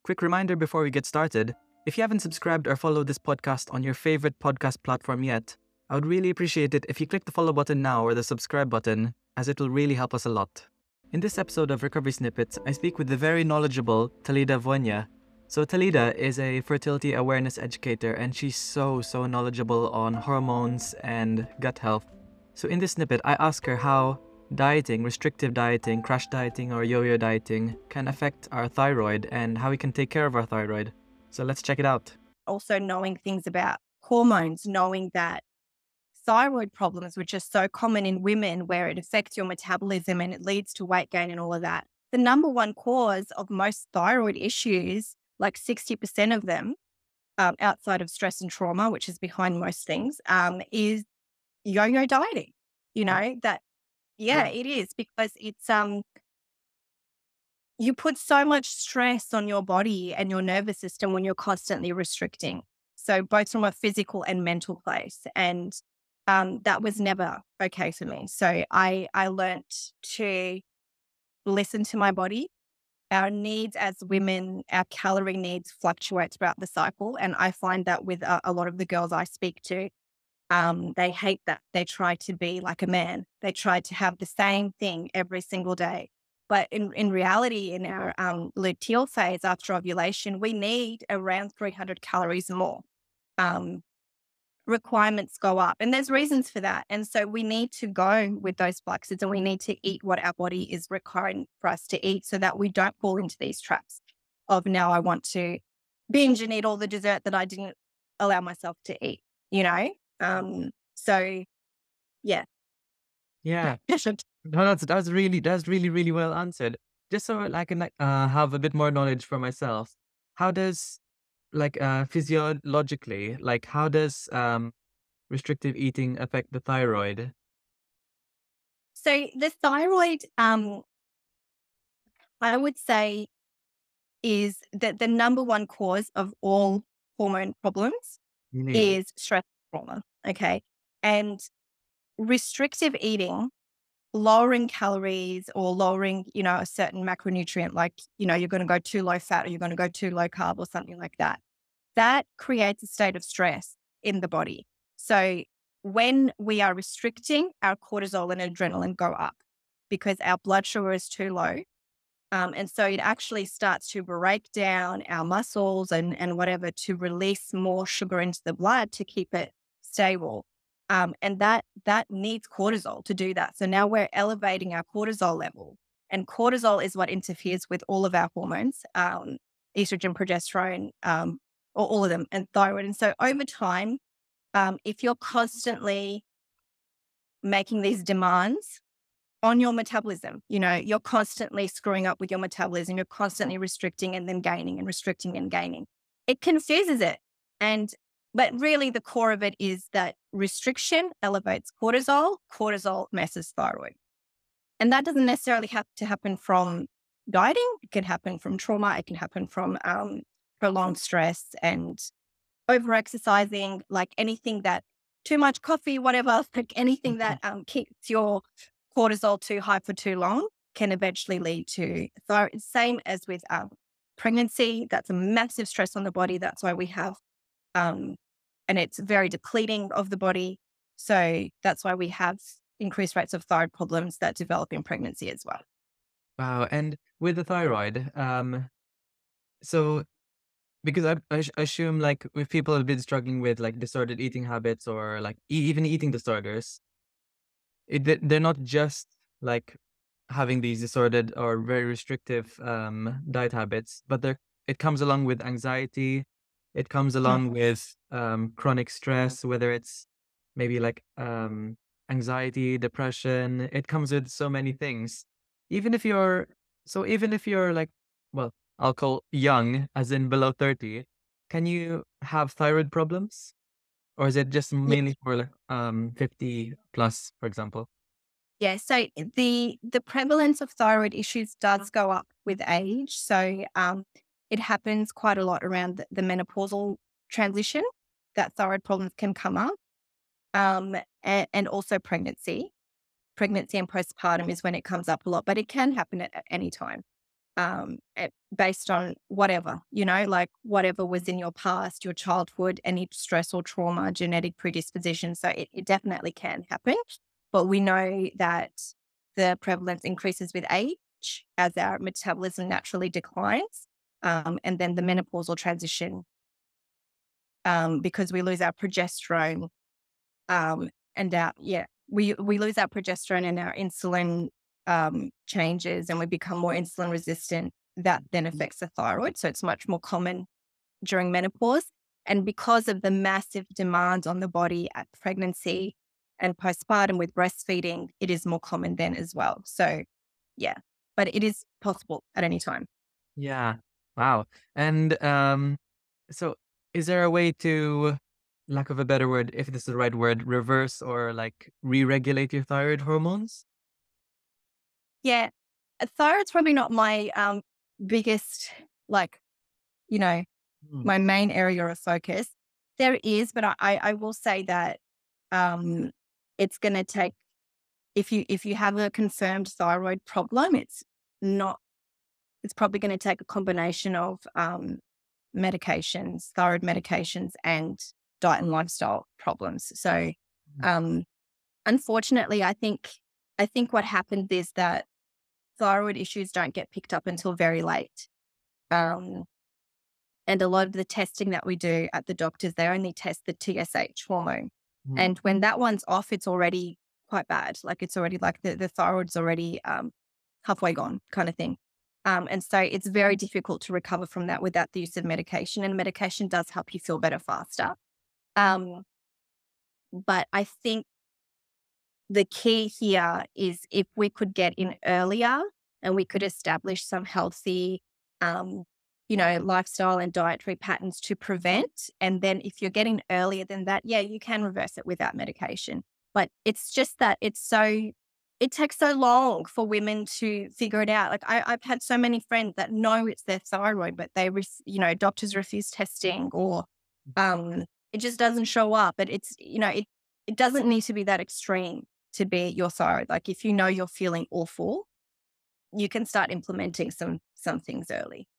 Quick reminder before we get started, if you haven't subscribed or followed this podcast on your favorite podcast platform yet, I would really appreciate it if you click the follow button now or the subscribe button, as it will really help us a lot. In this episode of Recovery Snippets, I speak with the very knowledgeable Talida Vonya. So Talida is a fertility awareness educator, and she's so knowledgeable on hormones and gut health. So in this snippet, I ask her how dieting, restrictive dieting, crash dieting, or yo-yo dieting can affect our thyroid and how we can take care of our thyroid. So let's check it out. Also knowing things about hormones, knowing that thyroid problems, which are so common in women where it affects your metabolism and it leads to weight gain and all of that. The number one cause of most thyroid issues, like 60% of them, outside of stress and trauma, which is behind most things, is yo-yo dieting. It is, because it's you put so much stress on your body and your nervous system when you're constantly restricting. So both from a physical and mental place. And that was never okay for me. So I learnt to listen to my body. Our needs as women, our calorie needs fluctuate throughout the cycle. And I find that with a lot of the girls I speak to, they hate that. They try to be like a man. They try to have the same thing every single day. But in reality, in our luteal phase after ovulation, we need around 300 calories more. Requirements go up, and there's reasons for that. And so we need to go with those fluxes, and we need to eat what our body is requiring for us to eat so that we don't fall into these traps of, now I want to binge and eat all the dessert that I didn't allow myself to eat, So yeah. Yeah. No, that's really well answered. Just so I can have a bit more knowledge for myself. How does physiologically, how does restrictive eating affect the thyroid? So the thyroid, I would say, is that the number one cause of all hormone problems is stress and trauma. Okay. And restrictive eating, lowering calories or lowering, a certain macronutrient, like, you're going to go too low fat or you're going to go too low carb or something like that, that creates a state of stress in the body. So when we are restricting, our cortisol and adrenaline go up because our blood sugar is too low. And so it actually starts to break down our muscles and whatever to release more sugar into the blood to keep it stable. And that needs cortisol to do that. So now we're elevating our cortisol level, and cortisol is what interferes with all of our hormones, estrogen, progesterone, or all of them, and thyroid. And so over time, if you're constantly making these demands on your metabolism, you're constantly screwing up with your metabolism, you're constantly restricting and then gaining and restricting and gaining. It confuses it. But really the core of it is that restriction elevates cortisol, cortisol messes thyroid. And that doesn't necessarily have to happen from dieting. It can happen from trauma. It can happen from prolonged stress and over-exercising, like anything that, too much coffee, whatever, like anything that keeps your cortisol too high for too long can eventually lead to thyroid. Same as with pregnancy. That's a massive stress on the body. That's why we have, and it's very depleting of the body. So that's why we have increased rates of thyroid problems that develop in pregnancy as well. Wow. And with the thyroid, so because I assume if people have been struggling with disordered eating habits or even eating disorders, they're not just having these disordered or very restrictive diet habits, but it comes along with anxiety. It comes along with chronic stress, whether it's maybe anxiety, depression. It comes with so many things. Even if you're well, I'll call young, as in below 30, can you have thyroid problems? Or is it just mainly for 50 plus, for example? Yeah, so the prevalence of thyroid issues does go up with age. So it happens quite a lot around the menopausal transition, that thyroid problems can come up. And also pregnancy. Pregnancy and postpartum is when it comes up a lot, but it can happen at any time. based on whatever, like whatever was in your past, your childhood, any stress or trauma, genetic predisposition. So it definitely can happen. But we know that the prevalence increases with age as our metabolism naturally declines. And then the menopausal transition, because we lose our progesterone, and we lose our progesterone and our insulin changes, and we become more insulin resistant. That then affects the thyroid. So it's much more common during menopause. And because of the massive demands on the body at pregnancy and postpartum with breastfeeding, it is more common then as well. So yeah, but it is possible at any time. Yeah. Wow. And so is there a way to, lack of a better word, if this is the right word, reverse or like re-regulate your thyroid hormones? Yeah, thyroid's probably not my biggest, like, you know, Mm. my main area of focus. There is, but I will say that um, it's going to take, if you have a confirmed thyroid problem, not it's probably going to take a combination of medications, thyroid medications, and diet and lifestyle problems. So, Mm. um, unfortunately, I think what happens is that thyroid issues don't get picked up until very late. Um, and a lot of the testing that we do at the doctors, they only test the TSH hormone. Mm. And when that one's off, it's already quite bad. Like it's already like the thyroid's already halfway gone kind of thing. And so it's very difficult to recover from that without the use of medication. And medication does help you feel better faster. Um, but I think the key here is if we could get in earlier and we could establish some healthy, um, lifestyle and dietary patterns to prevent. And then if you're getting earlier than that, yeah, you can reverse it without medication. But it's just that it takes so long for women to figure it out. Like I've had so many friends that know it's their thyroid, but doctors refuse testing, or it just doesn't show up. But it doesn't need to be that extreme to be your thyroid. Like if you know you're feeling awful, you can start implementing some things early.